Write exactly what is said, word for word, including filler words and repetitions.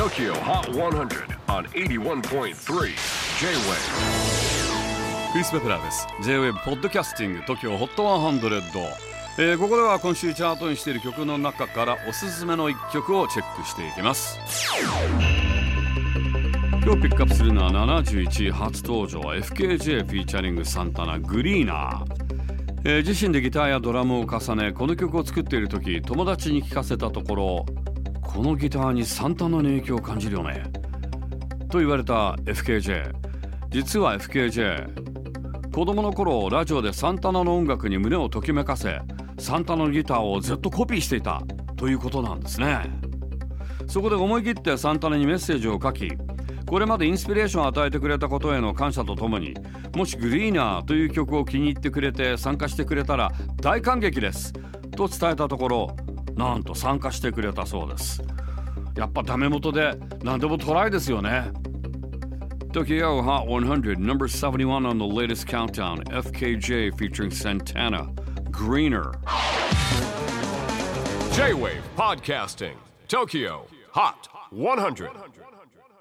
Tokyo Hot one hundred on エイティワンポイントスリー J-Wave。 クリス・ベプラーです。 J-Wave ポッドキャスティング Tokyo Hot ひゃく、えー、ここでは今週チャートにしている曲の中からおすすめのいっきょくをチェックしていきます。今日ピックアップするのはななじゅういちい初登場 エフケージェー フィーチャリングサンタナグリーナー、えー、自身でギターやドラムを重ねこの曲を作っている時友達に聞かせたところ、このギターにサンタナの影響を感じるよねと言われた エフケージェー。 実は エフケージェー 子供の頃ラジオでサンタナの音楽に胸をときめかせサンタナのギターをずっとコピーしていたということなんですね。そこで思い切ってサンタナにメッセージを書き、これまでインスピレーションを与えてくれたことへの感謝とともに、もしグリーナーという曲を気に入ってくれて参加してくれたら大感激ですと伝えたところ、なんと参加してくれたそうです。やっぱダメ元で何でもトライですよね。 Tokyo Hot one hundred number seventy-one on the latest countdown, エフケージェー featuring Santana, Greener. J-Wave Podcasting Tokyo Hot one hundred.